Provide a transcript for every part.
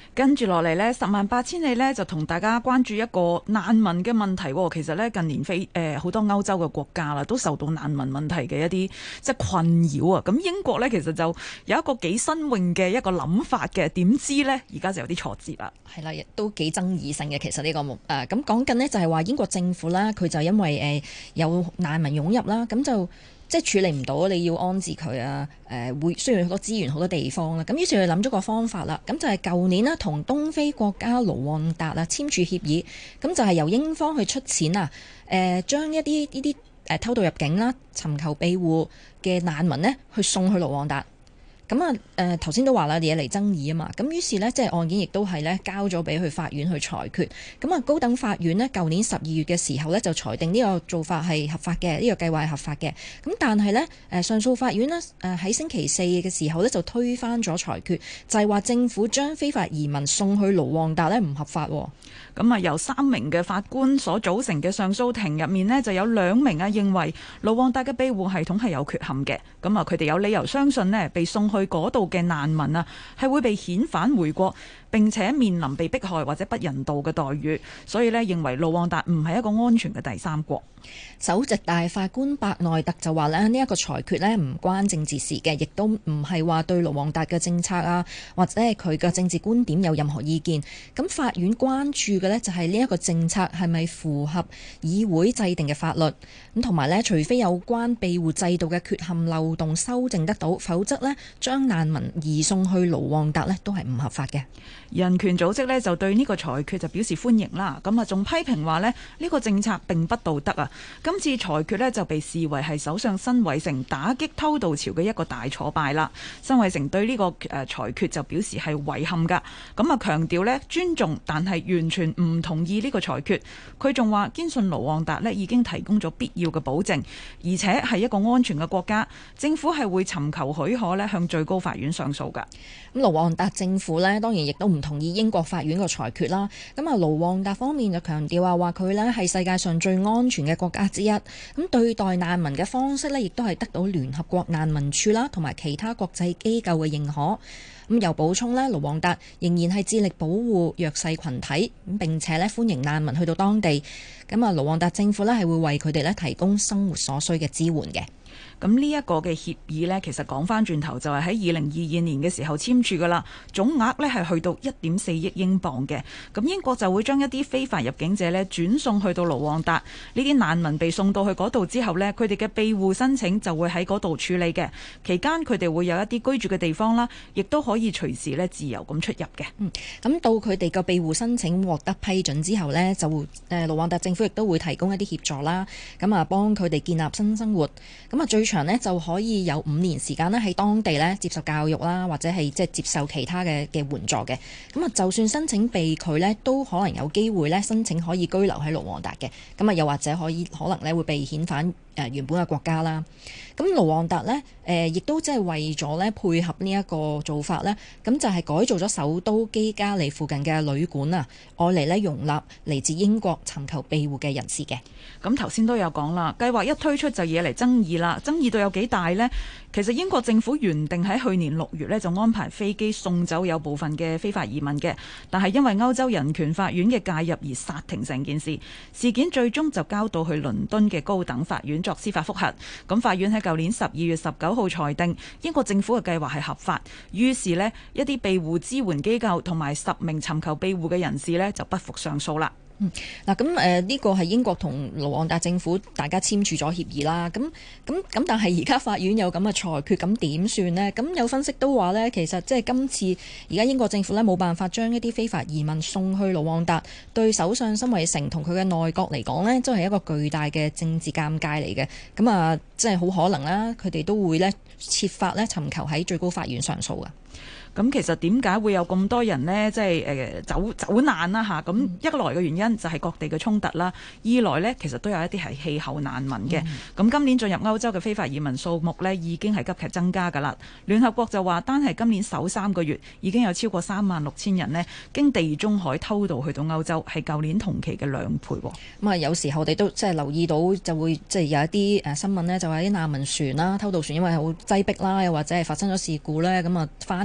跟住落嚟呢，108000里呢就同大家關注一個難民嘅問題。其實呢，近年好多歐洲嘅國家啦，都受到難民問題嘅一啲即係困擾啊。咁英國呢，其實就有一個幾新穎嘅一個諗法嘅，點知呢，而家就有啲挫折啦。 係啦，亦都幾爭議性嘅。其實呢個咁講緊呢，就係話英國政府啦，佢就因為有難民湧入啦，咁就即係處理唔到，你要安置佢啊，會需要好多資源、好多地方啦。咁於是佢諗咗個方法啦，咁就係舊年啦，同東非國家盧旺達啊簽署協議，咁就係由英方去出錢啊，將一啲呢啲偷渡入境啦、尋求庇護嘅難民呢，去送去盧旺達。咁啊，頭先都話啦，惹嚟爭議啊嘛，咁於是呢，即係案件亦都係呢交咗俾去法院去裁決。咁啊，高等法院呢，舊年12月嘅時候呢，就裁定呢個做法係合法嘅，呢個計劃係合法嘅。咁但係呢，上訴法院呢，喺星期四嘅時候呢，就推翻咗裁決，就係話政府將非法移民送去盧旺達呢唔合法。 咁啊，由3名嘅法官所組成嘅上訴庭入面呢，就有2名認為盧旺達嘅庇護系統係有缺陷嘅。咁啊，佢哋有理由相信呢，被送去嗰度嘅難民啊，係會被遣返回國，並且面臨被迫害或者不人道嘅待遇，所以呢，認為盧旺達唔係一個安全嘅第三國。 首席大法官伯內特就話呢一個裁決呢唔關政治事嘅，亦都唔係話對盧旺達嘅政策啊，或者係佢嘅政治觀點有任何意見。咁法院關注嘅呢就係呢一個政策係咪符合議會制定嘅法律，咁同埋呢，除非有關庇護制度嘅缺陷漏洞修正得到，否則呢，將難民移送去盧旺達呢都係唔合法嘅。 人權組織呢就對呢個裁決就表示歡迎啦，咁啊仲批評話呢，呢個政策並不道德啊。今次裁決呢就被視為係首相辛偉誠打擊偷渡潮嘅一個大挫敗啦。辛偉誠對呢個裁決就表示係遺憾㗎，咁啊強調呢尊重，但係完全唔同意呢個裁決。佢仲話堅信盧旺達呢已經提供咗必要嘅保證，而且係一個安全嘅國家，政府係會尋求許可呢向最高法院上訴㗎。 咁盧旺達政府呢當然亦都唔同意英國法院個裁決啦。咁啊盧旺達方面就強調話佢呢係世界上最安全嘅國家之一。咁對待難民嘅方式呢，亦都係得到聯合國難民署啦同埋其他國際機構嘅認可。咁又補充呢，盧旺達仍然係致力保護弱勢群體，咁並且呢歡迎難民去到當地。咁啊盧旺達政府呢係會為佢哋呢提供生活所需嘅支援嘅。 咁呢一個嘅協議呢，其實講翻轉頭就係喺2022年嘅時候簽署噶啦，總額呢係去到1.4億英鎊嘅。咁英國就會將一啲非法入境者呢轉送去到盧旺達，呢啲難民被送到去嗰度之後呢，佢哋嘅庇護申請就會喺嗰度處理嘅。期間佢哋會有一啲居住嘅地方啦，亦都可以隨時呢自由咁出入嘅。 咁到佢哋個庇護申請獲得批准之後呢，就盧旺達政府亦都會提供一啲協助啦，咁啊幫佢哋建立新生活。咁啊最長呢就可以有5年時間呢喺當地呢接受教育啦，或者係即係接受其他嘅援助嘅。咁啊就算申請被拒呢，都可能有機會呢申請可以居留喺盧旺達嘅。咁啊又或者可能呢會被遣返原本嘅國家啦。咁盧旺達呢，亦都即係為咗呢配合呢一個做法呢，咁就係改造咗首都基加利附近嘅旅館啊，愛嚟呢容納嚟自英國尋求庇護嘅人士嘅。 咁頭先都有講啦，計劃一推出就惹嚟爭議啦，爭議到有幾大呢？其實英國政府原定喺去年6月呢就安排飛機送走有部分嘅非法移民嘅，但係因為歐洲人權法院嘅介入而煞停成件事。事件最終就交到去倫敦嘅高等法院作司法覆核。咁法院喺舊年12月19號裁定英國政府嘅計劃係合法，於是呢，一啲庇護支援機構同埋10名尋求庇護嘅人士呢就不服上訴啦。 嗱咁呢個係英國同盧旺達政府大家簽署咗協議啦。咁但係而家法院有咁嘅裁決，咁點算呢？咁有分析都話呢，其實即係今次而家英國政府呢冇辦法將一啲非法移民送去盧旺達，對首相辛偉誠同佢嘅內閣嚟講呢，都係一個巨大嘅政治尷尬嚟嘅。咁啊，即係好可能啦，佢哋都會呢設法呢尋求喺最高法院上訴㗎。 咁其實點解會有咁多人呢？即係走難啦嚇。咁一來嘅原因就係各地嘅衝突啦，二來呢，其實都有一啲係氣候難民嘅。咁今年進入歐洲嘅非法移民數目呢，已經係急劇增加㗎啦。聯合國就話單係今年首3個月已經有超過36,000人呢經地中海偷渡去到歐洲，係舊年同期嘅2倍。 咁啊，有時候我哋都即係留意到，就會即係有一啲新聞呢，就話啲難民船啦、偷渡船因為好擠迫啦，又或者係發生咗事故呢，咁啊翻沉啊。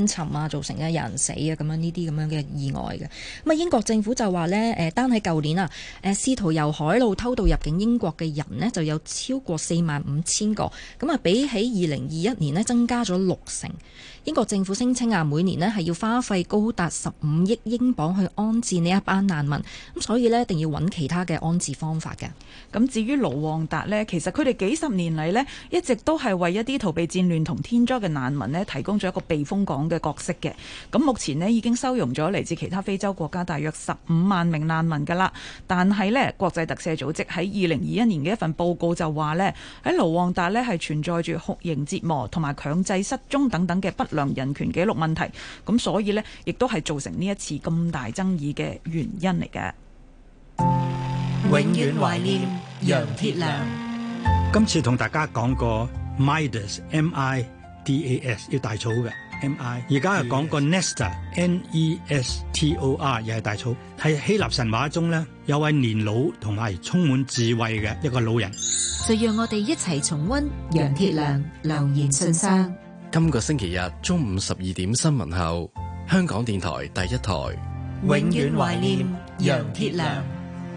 啊，造成有人死啊咁樣呢啲咁樣嘅意外嘅。咁啊，英國政府就話呢，單喺舊年啊，試圖由海路偷渡入境英國嘅人呢，就有超過45,000個，咁啊比起2021年呢，增加咗60%。英國政府聲稱啊，每年呢係要花費高達15億英鎊去安置呢一班難民，咁所以呢，一定要揾其他嘅安置方法嘅。 咁至於盧旺達呢，其實佢哋幾十年嚟呢，一直都係為一啲逃避戰亂同天災嘅難民呢提供咗一個避風港嘅角色嘅。咁目前呢，已經收容咗嚟自其他非洲國家大約15萬名難民㗎啦。但係呢，國際特赦組織喺2021年嘅一份報告就話呢，喺盧旺達呢係存在住酷刑折磨同埋強制失蹤等等嘅不良人權記錄問題。咁所以呢，亦都係造成呢一次咁大爭議嘅原因嚟嘅。 永遠懷念楊鐵良。 今次同大家講個 Midas M-I-D-A-S 要大草嘅 M-I， 而家係講個 Nestor N-E-S-T-O-R 又係大草，喺希臘神話中呢，有位年老同埋充滿智慧嘅一個老人。 就讓我哋一齊重溫楊鐵良留言信箱。 今個星期日中午12點新聞後，香港電台第一台。 永遠懷念楊鐵良。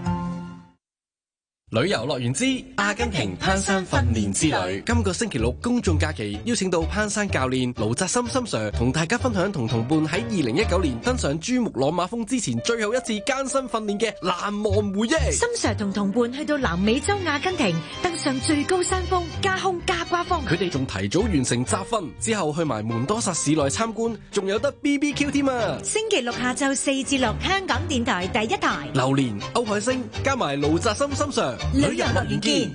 旅遊樂園之阿根廷攀山訓練之旅，今個星期六公眾假期邀請到攀山教練盧澤森森 Sir 同大家分享同同伴喺2019年登上珠穆朗瑪峰之前最後一次艱辛訓練嘅難忘回憶。 森 Sir 同同伴去到南美洲阿根廷登上最高山峰加空加瓜峰， 佢哋仲提早完成集訓，之後去埋門多薩市內參觀，仲有得 BBQ 添啊！ 星期六下晝4至6，香港電台第一台。 榴蓮、歐海星加埋盧澤森森 Sir。 旅遊樂園見，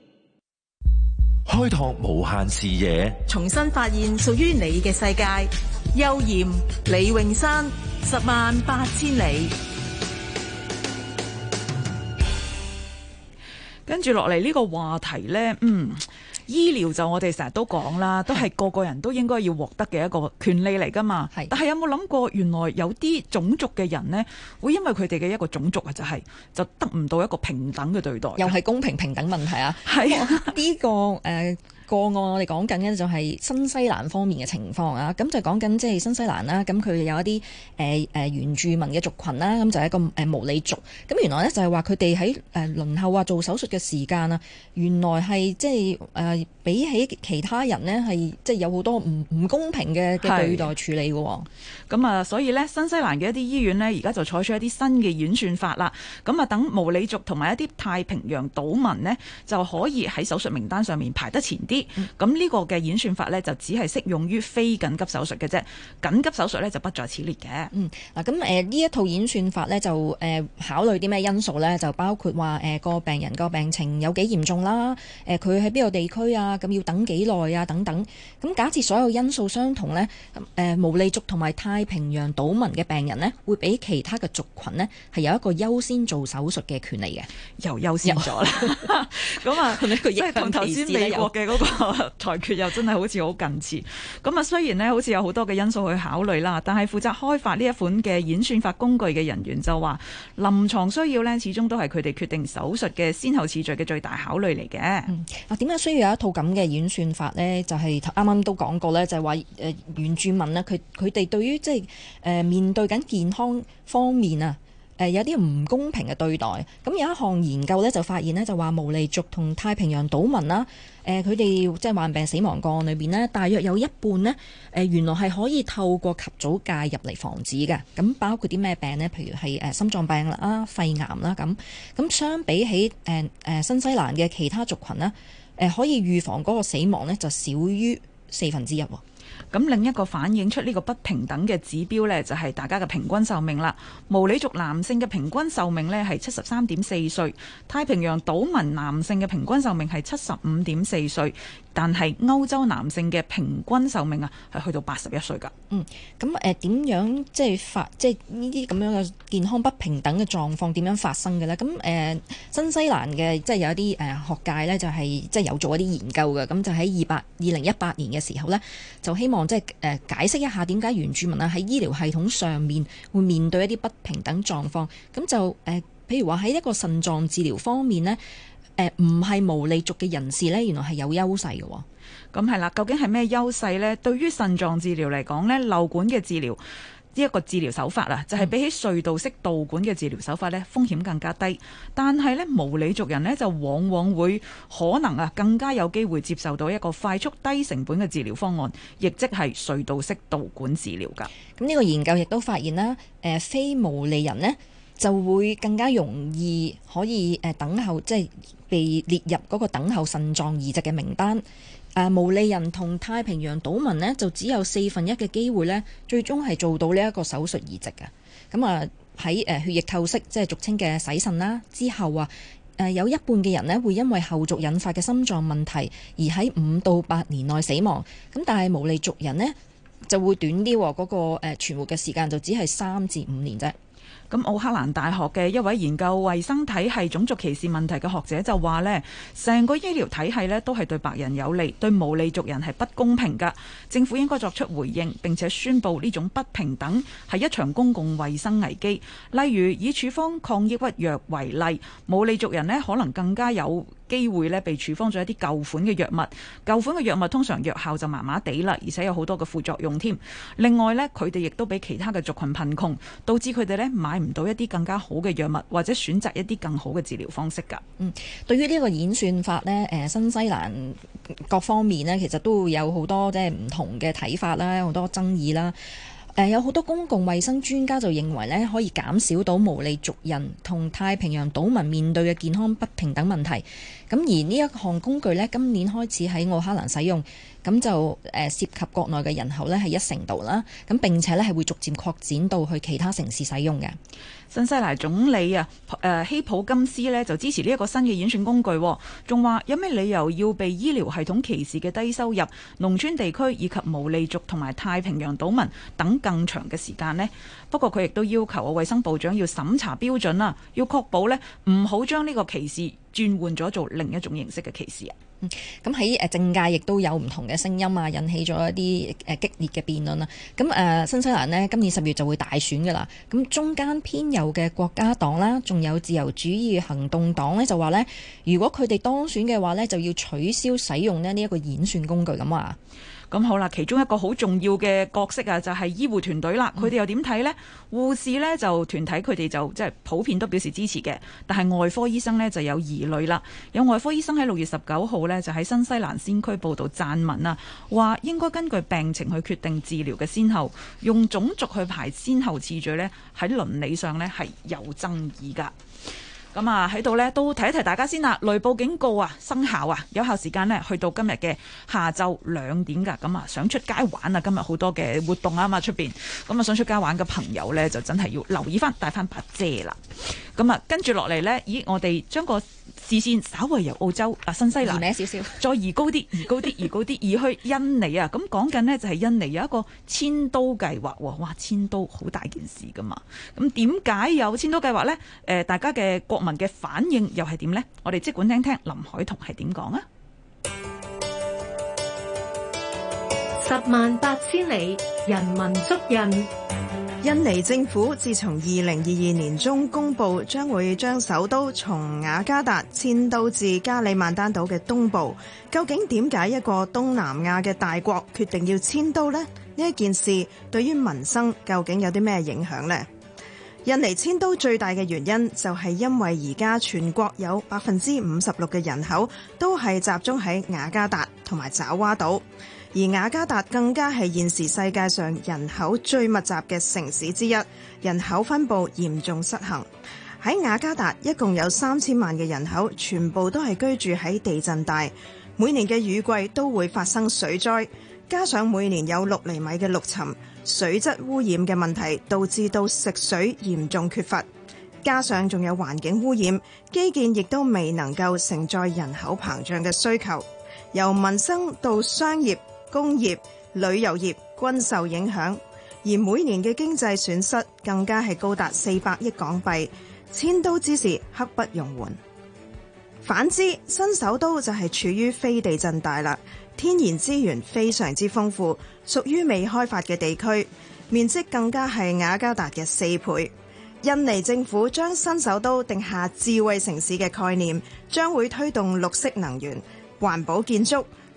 開拓無限視野， 重新發現屬於你嘅世界。邱賢、李詠山，108000里。 跟住落嚟呢個話題呢，醫療就我哋成日都講啦，都係個個人都應該要獲得嘅一個權利嚟㗎嘛。但係有冇諗過，原來有啲種族嘅人呢，會因為佢哋嘅一個種族啊，就得唔到一個平等嘅對待， 又係公平平等問題啊！ 係呢個個案我哋講緊嘅就係新西蘭方面嘅情況啊，咁就講緊即係新西蘭啦，咁佢有一啲原住民嘅族群啦，咁就係一個毛利族，咁原來咧就係話佢哋喺輪候做手術嘅時間啊，原來係即係比起其他人呢，係即係有好多唔公平嘅對待處理嘅。 咁啊，所以咧新西蘭嘅一啲醫院呢，而家就採取一啲新嘅演算法啦。咁啊，等毛利族同埋一啲太平洋島民呢，就可以喺手術名單上面排得前啲。咁呢個嘅演算法呢，就只係適用於非緊急手術嘅啫，緊急手術呢，就不在此列嘅。 嗱咁呢一套演算法呢，就考慮啲咩因素呢？就包括話個病人個病情有幾嚴重啦，佢喺邊個地區啊，咁要等幾耐啊等等。咁假設所有因素相同呢，毛利族同埋太平洋島民嘅病人呢，會比其他嘅族群呢，係有一個優先做手術嘅權利嘅， 又優先咗啦。咁啊，即係同頭先美國嘅嗰個裁決又真係好似好近似。咁啊，雖然呢好似有好多嘅因素去考慮啦，但係負責開發呢一款嘅演算法工具嘅人員就話，臨床需要呢，始終都係佢哋決定手術嘅先後次序嘅最大考慮嚟嘅。 點解需要有一套咁嘅演算法呢？就係啱啱都講過呢，就係話原住民呢，佢哋對於即係面對緊健康方面啊，有啲唔公平嘅對待。咁有一項研究呢，就發現呢，就話毛利族同太平洋島民啦，佢哋即係患病死亡個案裏邊呢，大約有一半呢，原來係可以透過及早介入嚟防止嘅。咁包括啲咩病呢？譬如係心臟病啦、肺癌啦咁。咁相比起新西蘭嘅其他族群呢，可以預防嗰個死亡呢，就少於1/4。 咁另一個反映出呢個不平等嘅指標呢，就係大家嘅平均壽命啦。毛利族男性嘅平均壽命呢係73.4歲，太平洋島民男性嘅平均壽命係75.4歲，但係歐洲男性嘅平均壽命啊係去到81歲㗎。 咁點樣即係呢啲咁樣嘅健康不平等嘅狀況點樣發生嘅呢？咁新西蘭嘅即係有一啲學界呢，就係即係有做一啲研究嘅，咁就喺2018年嘅時候呢，就希望即係解釋一下點解原住民啊喺醫療系統上面會面對一啲不平等狀況。咁就譬如話喺一個腎臟治療方面呢，唔係毛利族嘅人士呢，原來係有優勢嘅。 咁係啦，究竟係咩優勢呢？對於腎臟治療嚟講呢，漏管嘅治療呢一個治療手法啊，就係比起隧道式導管嘅治療手法呢，風險更加低。但係呢，無理族人呢，就往往會可能更加有機會接受到一個快速低成本嘅治療方案，亦即係隧道式導管治療㗎。 咁呢個研究亦都發現啦，非無利人呢，就會更加容易可以等候，即係被列入嗰個等候腎臟移植嘅名單。無利人同太平洋島民呢，就只有1/4嘅機會呢，最終係做到呢一個手術移植嘅。咁喺血液透析，即係俗稱嘅洗腎啦之後有一半嘅人呢，會因為後續引發嘅心臟問題而喺5到8年內死亡。咁但係無利族人呢，就會短啲，嗰個存活嘅時間就只係3至5年啫。 咁奧克蘭大學嘅一位研究衛生體系種族歧視問題嘅學者就話呢，成個醫療體系呢都係對白人有利，對無利族人係不公平㗎。政府應該作出回應，並且宣布呢種不平等係一場公共衛生危機。例如以處方抗抑鬱藥為例，無利族人呢可能更加有機會呢被處方咗一啲舊款嘅藥物，舊款嘅藥物通常藥效就麻麻地啦，而且有好多嘅副作用添。另外呢，佢哋亦都比其他嘅族群貧窮，導致佢哋呢買唔到一啲更加好嘅藥物，或者選擇一啲更好嘅治療方式㗎。 對於呢個演算法呢，新西蘭各方面呢，其實都會有好多即係唔同嘅睇法啦，好多爭議啦。有好多公共衛生專家就認為呢，可以減少到無利族人同太平洋島民面對嘅健康不平等問題。咁而呢一項工具呢，今年開始喺奧克蘭使用，咁就涉及國內嘅人口呢係1成度啦。咁並且呢係會逐漸擴展到去其他城市使用嘅。 新西蘭總理希普金斯呢就支持呢一個新嘅演算工具，仲話有咩理由要被醫療系統歧視嘅低收入、農村地區以及無利族同埋太平洋島民等更長嘅時間呢？不過佢亦都要求衛生部長要審查標準啦，要確保呢唔好將呢個歧視轉換咗做另一種形式嘅歧視啊。 咁喺政界亦都有唔同嘅聲音啊，引起咗一啲激烈嘅辯論啦。咁新西蘭呢，今年10月就會大選㗎啦。咁中間偏右嘅國家黨啦，仲有自由主義行動黨呢，就話呢，如果佢哋當選嘅話呢，就要取消使用呢一個演算工具咁話。 咁好啦，其中一個好重要嘅角色就係醫護團隊啦。佢哋又點睇呢？護士呢就團體佢哋就即係普遍都表示支持嘅，但係外科醫生呢就有疑慮啦。有外科醫生喺6月19號呢就喺新西蘭先驅報道撰文啊，話應該根據病情去決定治療嘅先後，用種族去排先後次序呢，喺倫理上呢係有爭議㗎。咁喺度呢都提一提大家先啦，雷暴警告生效有效時間呢去到今日嘅下晝2點㗎。咁想出街玩今日好多嘅活動嘛出邊，咁想出街玩嘅朋友呢，就真係要留意翻，帶翻把遮啦。咁跟住落嚟呢，我哋將個視線稍微由澳洲新西蘭少少， 再移高啲，移去印尼啊！咁講緊呢，就係印尼有一個遷都計劃喎，哇！遷都好大件事噶嘛，咁點解有遷都計劃呢？大家嘅國民嘅反應又係點呢？我哋即管聽聽林海彤係點講啊 ！18000里，人文足印。 印尼政府自從2022年中公布，將會將首都從雅加達遷都至加里曼丹島嘅東部。究竟點解一個東南亞嘅大國決定要遷都呢？呢一件事對於民生究竟有啲咩影響呢？印尼遷都最大嘅原因就係因為而家全國有56%嘅人口都係集中喺雅加達同埋爪哇島。而雅加達更加係現時世界上人口最密集嘅城市之一，人口分佈嚴重失衡。喺雅加達一共有3000萬嘅人口，全部都係居住喺地震帶，每年嘅雨季都會發生水災，加上每年有6厘米嘅陸沉，水質污染嘅問題導致到食水嚴重缺乏，加上仲有環境污染，基建亦都未能夠承載人口膨脹嘅需求，由民生到商業、工業、旅遊業均受影響，而每年嘅經濟損失更加係高達400億港幣，遷都之時刻不容緩。反之，新首都就係處於非地震帶啦，天然資源非常之豐富，屬於未開發嘅地區，面積更加係雅加達嘅4倍。印尼政府將新首都定下智慧城市嘅概念，將會推動綠色能源、環保建築、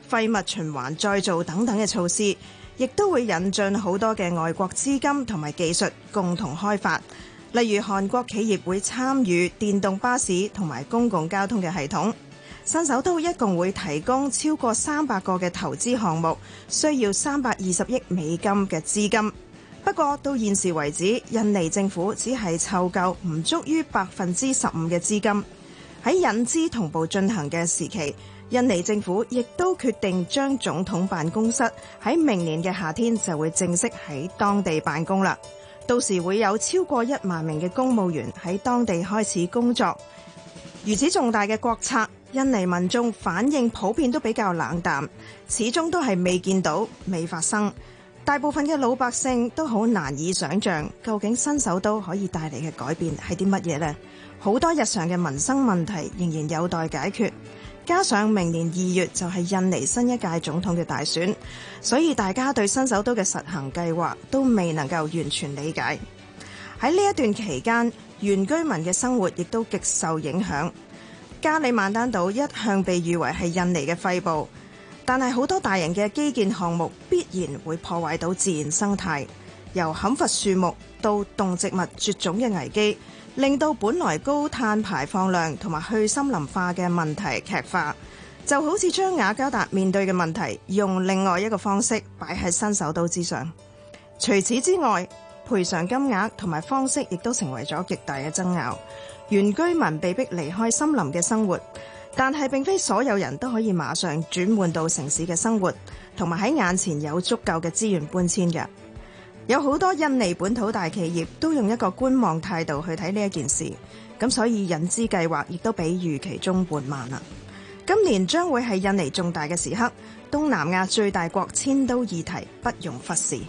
廢物循環再造等等嘅措施，亦都會引進好多嘅外國資金同埋技術共同開發。例如韓國企業會參與電動巴士同埋公共交通嘅系統。新首都一共會提供超過300個嘅投資項目，需要320億美金嘅資金。不過到現時為止，印尼政府只係湊夠唔足於15%嘅資金。喺引資同步進行嘅時期，印尼政府亦都決定將總統辦公室喺明年嘅夏天就會正式喺當地辦公啦。到時會有超過1萬名嘅公務員喺當地開始工作。如此重大嘅國策，印尼民眾反應普遍都比較冷淡，始終都係未見到、未發生。大部分嘅老百姓都好難以想像，究竟新首都可以帶嚟嘅改變係啲乜嘢呢？好多日常嘅民生問題仍然有待解決。加上明年2月就係印尼新一屆總統嘅大選，所以大家對新首都嘅實行計劃都未能夠完全理解。喺呢一段期間，原居民嘅生活亦都極受影響。加里曼丹島一向被譽為係印尼嘅肺部，但係好多大型嘅基建項目必然會破壞到自然生態，由砍伐樹木到動植物絕種嘅危機，令到本來高碳排放量同埋去森林化嘅問題劇化，就好似將雅加達面對嘅問題用另外一個方式擺喺新首都之上。除此之外，賠償金額同埋方式亦都成為咗極大嘅爭拗。原居民被迫離開森林嘅生活，但係並非所有人都可以馬上轉換到城市嘅生活，同埋喺眼前有足夠嘅資源搬遷嘅。有好多印尼本土大企業都用一個觀望態度去睇呢一件事，咁所以引資計劃亦都比預期中緩慢啦。今年將會係印尼重大嘅時刻，東南亞最大國遷都議題不容忽視。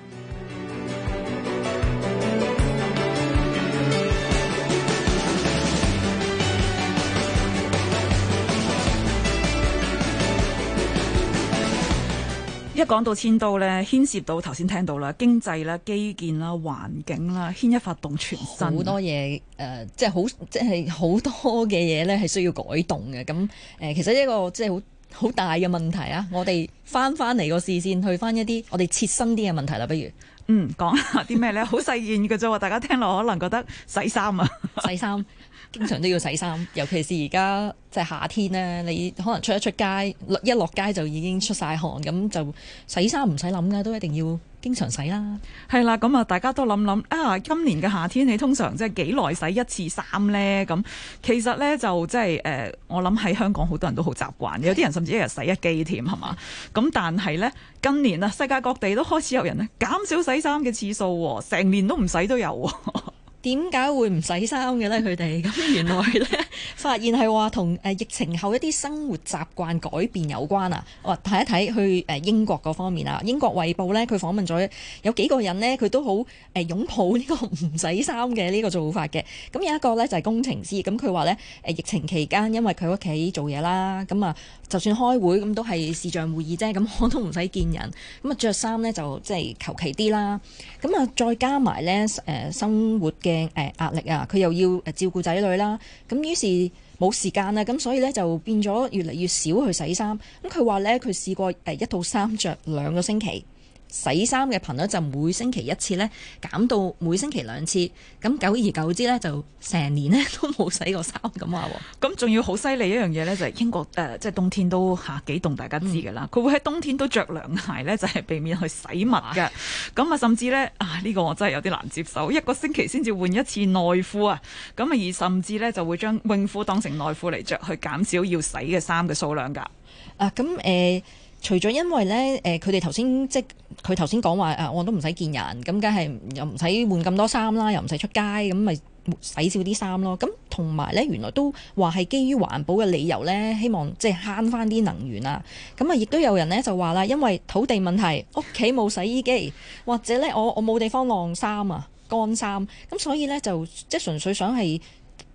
一講到遷都咧，牽涉到頭先聽到啦，經濟啦、基建啦、環境啦，牽一發動全身。好多嘢即係好多嘅嘢咧，係需要改動嘅。咁其實一個即係好大嘅問題啊！我哋翻嚟個視線，去翻一啲我哋切身啲嘅問題啦，不如講下啲咩咧？好細件嘅啫喎，大家聽落可能覺得洗衫啊， 洗衫。經常都要洗衫，尤其是而家即係夏天咧，你可能出街一落街就已經出晒汗，咁就洗衫唔使諗㗎，都一定要經常洗啦。 係啦，咁啊，大家都諗啊，今年嘅夏天你通常即係幾耐洗一次衫咧？咁其實咧就即係我諗喺香港好多人都好習慣，有啲人甚至一日洗一機添，係嘛？咁但係咧近年啊，世界各地都開始有人咧減少洗衫嘅次數，成年都唔洗都有。 點解會唔洗衫嘅咧？佢哋咁原來咧發現係話同疫情後一啲生活習慣改變有關啊！我睇一睇去英國嗰方面啊，英國衛報咧佢訪問咗有幾個人咧，佢都好擁抱呢個唔洗衫嘅呢個做法嘅。咁有一個咧就係工程師，咁佢話咧疫情期間因為佢屋企做嘢啦，咁啊就算開會咁都係視像會議啫，咁我都唔使見人，咁啊着衫咧就即係求其啲啦。咁啊再加埋咧生活嘅壓力啊，佢又要照顧仔女啦，咁於是冇時間啦，咁所以咧就變咗越嚟越少去洗衫。咁佢話咧，佢試過一套衫着2個星期，洗衫嘅頻率就每星期1次咧，減到每星期2次。咁久而久之咧，就成年咧都冇洗過衫咁話喎。咁仲要好犀利一樣嘢咧，就係英國即係冬天都幾凍，大家知㗎啦。佢會喺冬天都着涼鞋咧，就係避免去洗襪嘅。咁啊，甚至咧呢個我真係有啲難接受，1個星期先至換1次內褲啊。咁啊，而甚至咧就會將泳褲當成內褲嚟着，去減少要洗嘅衫嘅數量㗎。 除咗因為咧，佢哋頭先即係佢頭先講話我都唔使見人，咁梗係又唔使換咁多衫啦，又唔使出街，咁咪洗少啲衫咯。咁同埋咧，原來都話係基於環保嘅理由咧，希望即係慳翻啲能源啊。咁啊，亦都有人咧就話啦，因為土地問題，屋企冇洗衣機，或者咧我冇地方晾衫啊，乾衫，咁所以咧就即係純粹想係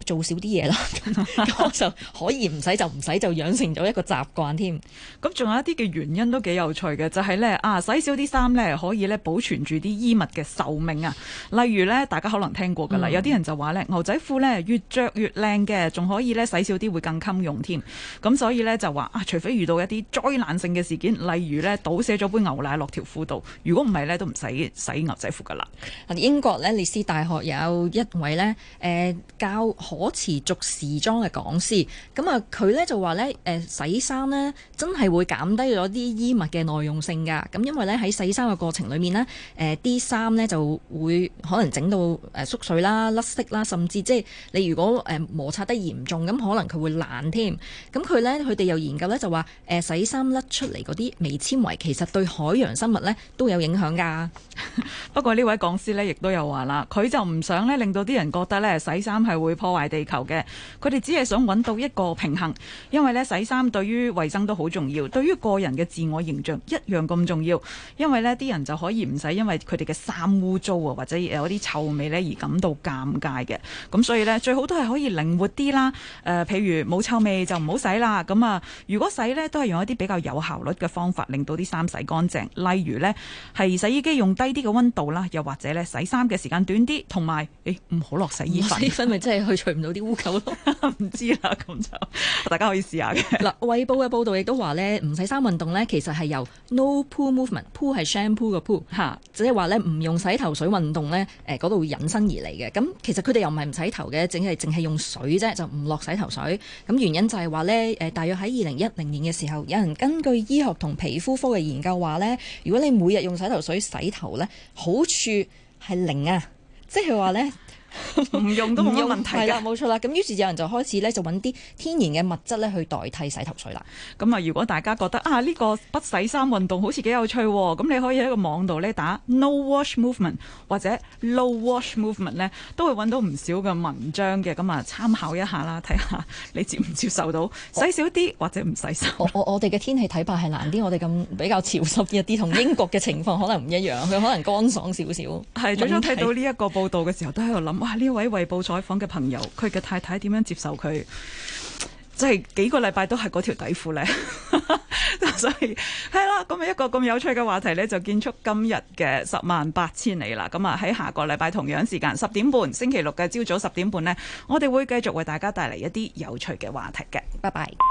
做少啲嘢啦，咁我就可以唔使就唔使，就養成咗一個習慣添。 咁仲有一啲嘅原因都幾有趣嘅，就係咧洗少啲衫咧可以咧保存住啲衣物嘅壽命啊。例如咧，大家可能聽過㗎啦，有啲人就話咧牛仔褲咧越着越靚嘅，仲可以咧洗少啲會更襟用添。咁所以咧就話除非遇到一啲災難性嘅事件，例如咧倒瀉咗杯牛奶落條褲度，如果唔係咧都唔使洗牛仔褲㗎啦。 英國咧列斯大學有一位咧教可持續時裝嘅講師，咁啊佢咧就話咧洗衫咧真係會減低咗啲衣物嘅耐用性㗎。咁因為咧喺洗衫嘅過程裏面呢，啲衫咧就會可能整到縮水啦、甩色啦，甚至即係你如果摩擦得嚴重，咁可能佢會爛添。咁佢哋有研究咧就話洗衫甩出嚟嗰啲微纖維其實對海洋生物咧都有影響㗎。 不過呢位講師咧亦都有話啦，佢就唔想咧令到啲人覺得咧洗衫係會破壞地球嘅，佢哋只係想揾到一個平衡，因為咧洗衫對於衛生都好重要，對於個人嘅自我形象一樣咁重要，因為呢啲人就可以唔使因為佢哋嘅衫污糟啊或者有啲臭味咧而感到尷尬嘅。咁所以咧最好都係可以靈活啲啦。譬如冇臭味就唔好洗啦。咁啊，如果洗咧都係用一啲比較有效率嘅方法，令到啲衫洗乾淨。例如咧係洗衣機用低啲嘅溫度啦，又或者咧洗衫嘅時間短啲，同埋唔好落洗衣粉。 洗衣粉咪真係去除唔到啲污垢咯？ 唔知啦，咁就大家可以試下嘅。 嗱，衛報嘅報導亦都話咧，唔洗衫運動咧其實係由 No Poo Movement，Poo 係 shampoo 嘅 Poo 嚇，即係話咧唔用洗頭水運動咧嗰度引申而嚟嘅。咁其實佢哋又唔係唔洗頭嘅，淨係用水啫，就唔落洗頭水。咁原因就係話咧大約喺2010年嘅時候，有人根據醫學同皮膚科嘅研究話咧，如果你每日用洗頭水洗頭咧，好處係零啊，即係話咧。 唔用都冇乜問題㗎。 係啦，冇錯啦。咁於是有人就開始咧就揾啲天然嘅物質咧去代替洗頭水啦。 咁啊，如果大家覺得呢個不洗衫運動好似幾有趣喎，咁你可以喺個網度咧打 No Wash Movement 或者 Low Wash Movement 咧，都會揾到唔少嘅文章嘅。咁啊，參考一下啦，睇下你接唔接受到洗少啲或者唔洗衫。 我哋嘅天氣睇法係難啲，我哋咁比較潮濕一啲，同英國嘅情況可能唔一樣，佢可能乾爽少少。 係，最初睇到呢一個報導嘅時候，都喺度諗。哇！呢位衛報採訪嘅朋友，佢嘅太太點樣接受佢？即係幾個禮拜都係嗰條底褲呢。所以係啦，咁一個咁有趣嘅話題呢，就結束今日嘅108000里啦。咁啊喺下個禮拜同樣時間10點半，星期六嘅朝早10點半呢，我哋會繼續為大家帶嚟一啲有趣嘅話題嘅。 拜拜。